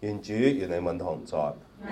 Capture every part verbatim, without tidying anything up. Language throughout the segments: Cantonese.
願主與你們同在。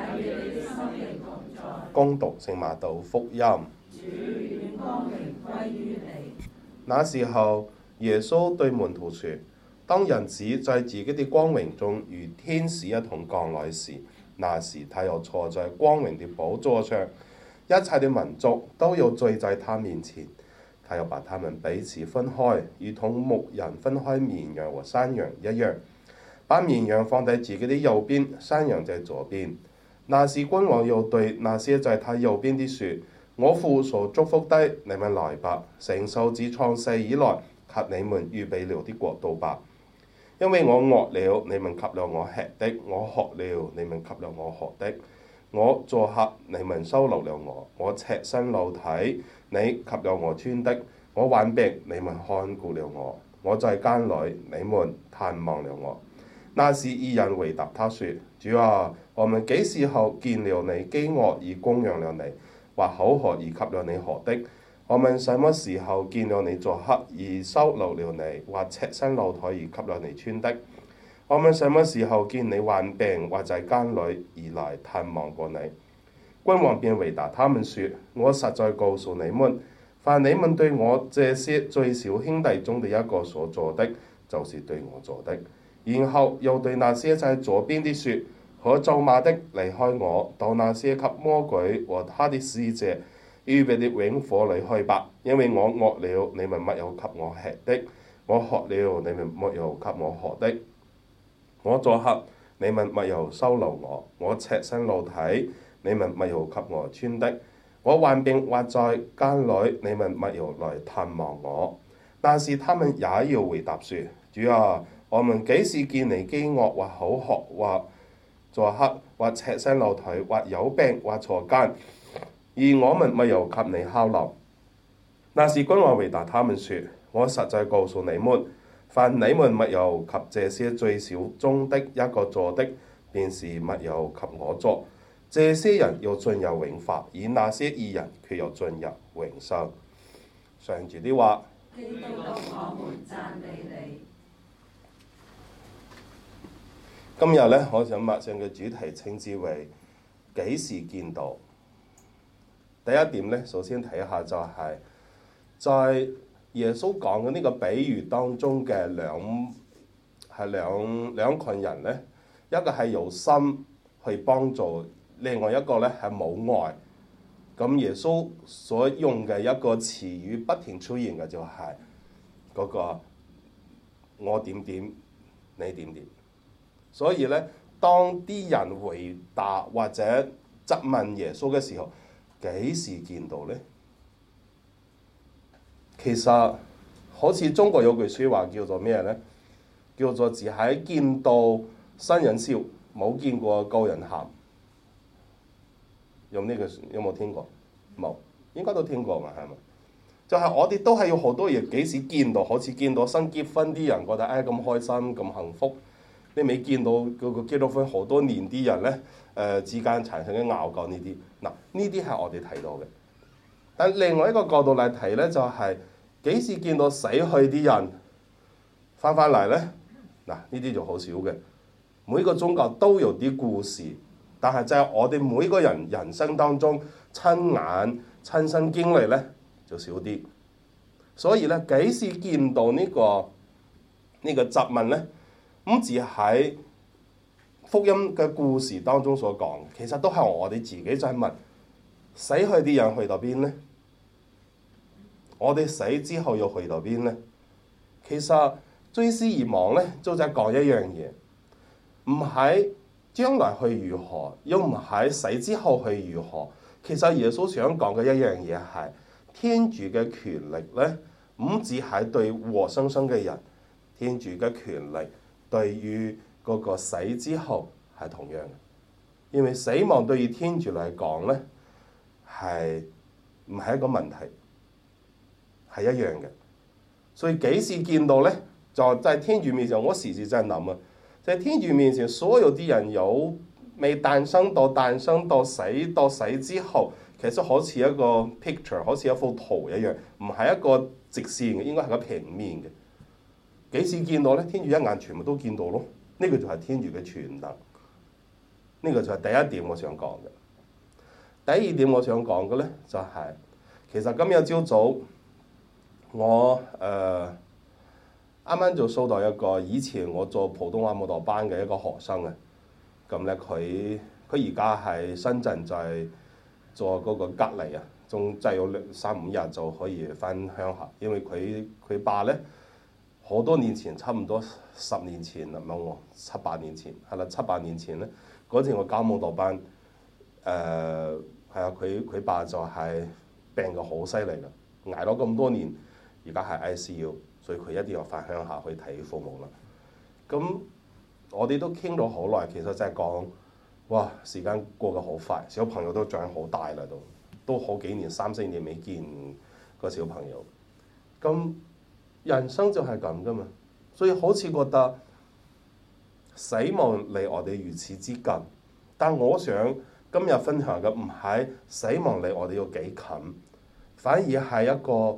恭讀聖馬竇福音。 主，願光榮歸於你。 那時候，耶穌對門徒說：當人子在自己的光榮中與天使一同降來時，那時他又坐在光榮的寶座上，一切的民族都要聚在他面前。他又把他們彼此分開，如同牧人分開綿羊和山羊一樣，把綿羊放在自己的右邊，山羊在左邊。那時君王要對那些在他右邊的說：我父所祝福的，你們來吧，承受自創世以來給你們預備了的國度吧。因為我餓了，你們給了我吃的；我渴了，你們給了我喝的；我做客，你們收留了我；我赤身露體，你給了我穿的；我患病，你們看顧了我；我在監裏，你們探望了我。那時義人回答他說：主啊，我們幾時候見了你飢餓而供養了你，或口渴而給了你喝的？我們什麼時候見了你做客而收留了你，或赤身露體而給了你穿的？我們什麼時候見你患病或在監裏而來探望過你？君王便回答他們說：我實在告訴你們，凡你們對我這些最小兄弟中的一個所做的，就是對我做的。然後又對那些在左邊的說：可咒罵的，離開我，到那些給魔鬼和他的使者預備的永火裏去吧。因為我餓了，你們沒有給我吃的；我渴了，你們沒有給我喝的；我做客，你們沒有收留我；我赤身露體，你們沒有給我穿的；我患病或在監裏，你們沒有來探望我。但是他們也要回答說：主啊，我們幾時見你飢餓或口渴或做客或赤身露體或有病或坐監，而我們沒有給你犒勞？那時君王回答他們說：我實在告訴你們，凡你們沒有給這些最小中的一個做的，便是沒有給我做。這些人要進入永罰，而那些義人卻要進入永生。上主的話。 基督，我們讚美你。 今日咧，我想默想嘅主題稱之為幾時見到。第一點咧，首先睇下就係、是、在耶穌講嘅呢個比喻當中嘅兩係兩兩群人咧，一個係有心去幫助，另外一個咧係冇愛。咁耶穌所用嘅一個詞語不停出現嘅就係嗰個我點點你點點。所以咧，當啲人回答或者質問耶穌嘅時候，幾時見到咧？其實好似中國有句説話叫做咩咧？叫做只係見到新人笑，冇見過舊人喊。有呢句有冇聽過？冇，應該都聽過嘛，係咪？就係、是、我哋都係要好多嘢幾時見到，好似見到新結婚啲人覺得唉咁、哎、開心咁幸福。你未見到嗰個結咗婚好多年啲人咧，誒、呃、之間產生嘅拗撬呢啲，嗱呢啲係我哋睇到嘅。但另外一個角度嚟睇咧，就係、是、幾時見到死去啲人翻返嚟咧？嗱呢啲就好少嘅。每個宗教都有啲故事，但係就係我哋每個人人生當中親眼親身經歷咧就少啲。所以咧，幾時見到、這個這個、呢個呢個質問咧？唔止喺福音嘅故事當中所講，其實都係我哋自己就係問死去啲人去到邊咧？我哋死之後要去到邊咧？其實追思而亡咧，就係講一樣嘢，唔係將來去如何，又唔係死之後去如何。其實耶穌想講嘅一樣嘢係天主嘅權力咧，唔止係對活生生嘅人，天主嘅權力。對於嗰個死之後係同樣嘅，因為死亡對於天主嚟講咧係唔係一個問題，係一樣嘅。所以幾時見到咧，就喺天主面前，我時時真係諗啊，在天主面前，所有啲人有未誕生到誕生到死到死之後，其實好似一個 picture， 好似一幅圖一樣，唔係一個直線嘅，應該係個平面嘅。幾時見到咧？天主一眼全部都見到咯，呢、這個就係天主嘅全能。 呢個就係第一點我想講嘅。第二點我想講嘅咧就係、是，其實今日朝早我誒啱啱就收到一個以前我做普通話舞蹈班嘅一個學生啊，咁咧佢佢而家喺深圳就係做嗰個隔離啊，仲即係有兩三五日就可以翻鄉下，因為佢佢爸咧好多年前，差唔多十年前啦，唔係我七八年前係啦，七八年前咧嗰陣我教舞蹈班。誒係啊，佢佢爸就係病到好犀利啦，捱咗咁多年，而家係 I C U， 所以佢一定要翻鄉下去睇父母啦。咁我哋都傾咗好耐，其實就係講，哇，時間過得好快，小朋友都長好大啦，都都好幾年三四年未見個小朋友。咁人生就係咁噶嘛，所以好似覺得死亡離我哋如此之近，但我想。今日分享嘅唔係死亡離我哋有幾近，反而係一個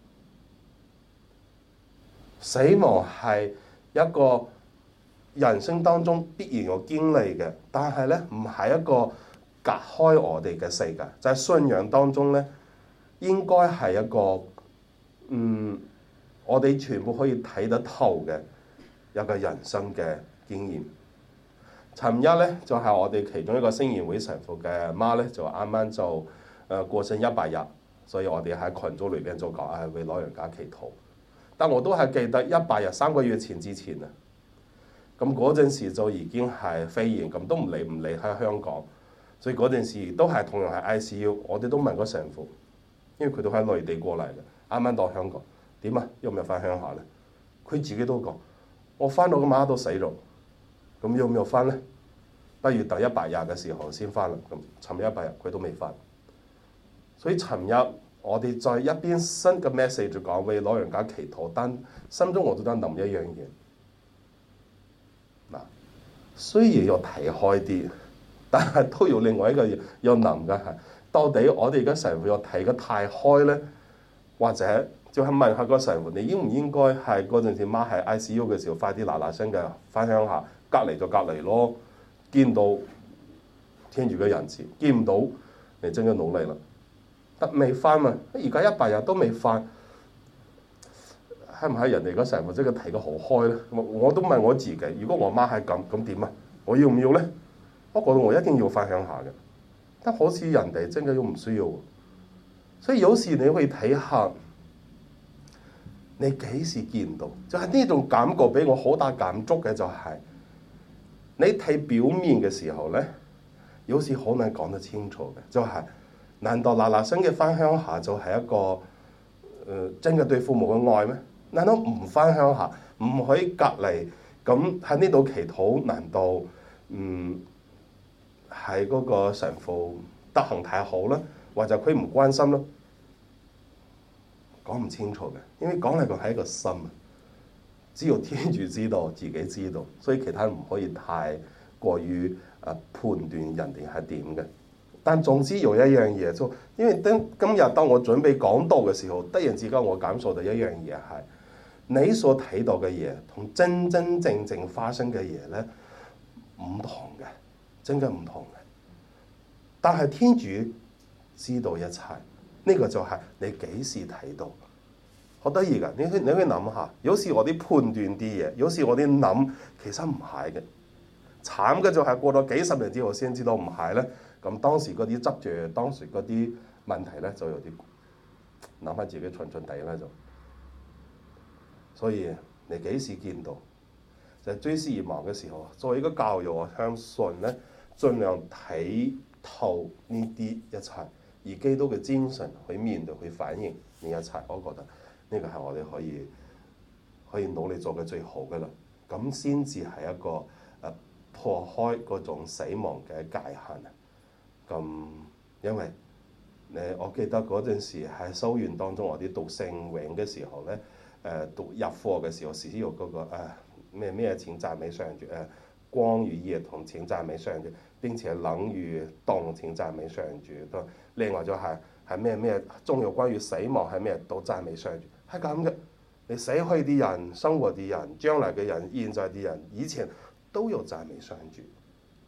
死亡係一個人生當中必然要經歷嘅，但係咧唔係一個隔開我哋嘅世界，就係、是、信仰當中咧應該係一個嗯我哋全部可以睇得透嘅一個人生嘅經驗。尋日咧就係、是、我哋其中一個聖言會神父嘅媽咧，就啱啱就誒過身一百日，所以我哋喺群組裏邊就講誒為老人家祈禱。但我都係記得一百日三個月前之前啊，咁嗰陣時就已經係肺炎，咁都唔理唔離開香港，所以嗰陣時都係同樣係 I C U， 我哋都問個神父，因為佢都喺內地過嚟嘅，啱啱到香港，點啊？要唔要翻鄉下咧？佢自己都講，我翻到個媽都死咗。咁要唔要翻咧？不如等一百日嘅時候先翻啦。咁尋日一百日佢都未翻，所以尋日我哋再一邊新嘅 message 講為老人家祈禱，但心中我都得諗一樣嘢。嗱，雖然要睇開啲，但係都要另外一個要諗嘅係，到底我哋而家神父要睇得太開咧，或者就係問下個神父，你應唔應該係嗰陣時媽喺 I C U 嘅時候，快啲嗱嗱聲嘅翻鄉下？隔離就隔離咯，見到天主嘅仁慈，見唔到你真係努力啦。得未翻嘛？而家一百日都未翻，係唔係人哋嗰神父真係睇得好開咧？我我都問我自己，如果我媽係咁，咁點啊？我要唔要咧？我覺得我一定要翻鄉下嘅，但好似人哋真係都唔需要。所以有時你可以睇下，你幾時見到？就係呢種感覺俾我好大感觸嘅就係。你睇表面嘅時候咧，有時好難講得清楚嘅，就係、是、難道嗱嗱聲嘅翻鄉下就係一個誒、呃、真嘅對父母嘅愛咩？難道唔翻鄉下，唔可以隔離，咁喺呢度祈禱？難道嗯係嗰個神父德行太好咧，或者佢唔關心咧？講唔清楚嘅，因為講嚟講係一個心。只有天主知道，自己知道，所以其他人唔可以太過於誒判斷人哋係點嘅。但總之有一樣嘢，就因為當今日當我準備講道嘅時候，突然之間我感受到一樣嘢係，你所睇到嘅嘢同真真正正發生嘅嘢咧唔同嘅，真嘅唔同嘅。但係天主知道一切，呢個就係你幾時睇到。好得意㗎，你去你去諗下，有時我啲判斷啲嘢，有時我啲諗其實唔係嘅。慘嘅就係過咗幾十年之後先知道唔係咧。咁當時嗰啲執著，當時嗰啲問題咧就有啲諗翻自己蠢蠢地啦就。所以你幾時見到？就係追思而亡嘅時候，作為一個教育，我相信咧，盡量睇透呢啲一切，以基督嘅精神去面對、去反映呢一切，我覺得。呢個係我哋可以可以努力做嘅最好嘅啦，咁先至係一個誒、啊、破開嗰種死亡嘅界限啊！咁因為誒我記得嗰陣時喺修院當中，我哋讀聖詠嘅時候咧，誒、呃、讀入課嘅時候，時時有嗰個誒咩咩請讚美上主誒，光與夜同請讚美上主，並且冷與凍請讚美上主。都另外就係係咩咩，仲有關於死亡係咩都讚美上主。係咁嘅，你死去啲人、生活啲人、將來嘅人、現在啲人、以前都有讚美上主。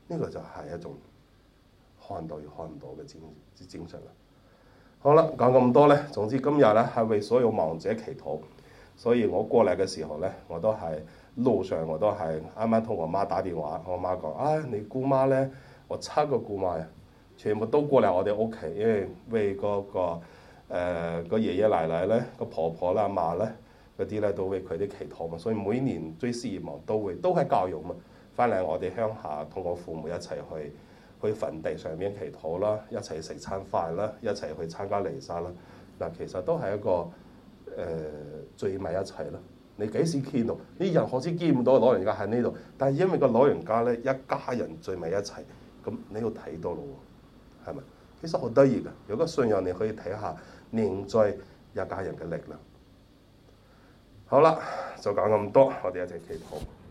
呢個就係一種看到與看唔到嘅精精神啦。好啦，講咁多咧，總之今日咧係為所有亡者祈禱，所以我過嚟嘅時候咧，我都係路上我都係啱啱同我媽打電話，我媽講：啊，你姑媽咧，我七個姑媽啊，全部都過嚟我哋屋企，因為為嗰個誒個爺爺奶奶咧、個婆婆啦、阿嫲咧嗰啲咧都為佢哋祈禱嘛，所以每年追思願望都會都係教育嘛，翻嚟我哋鄉下同我父母一齊去。去墳地上面祈禱啦，一齊食餐飯啦，一齊去參加彌撒啦。嗱，其實都係一個誒、呃、聚埋一齊啦。你幾時見到啲人好似見唔到老人家喺呢度，但係因為個老人家咧一家人聚埋一齊，咁你要睇到咯喎，係咪？其實好得意㗎。有個信仰你可以睇下凝聚一家人嘅力量。好啦，就講咁多，我哋一齊祈禱。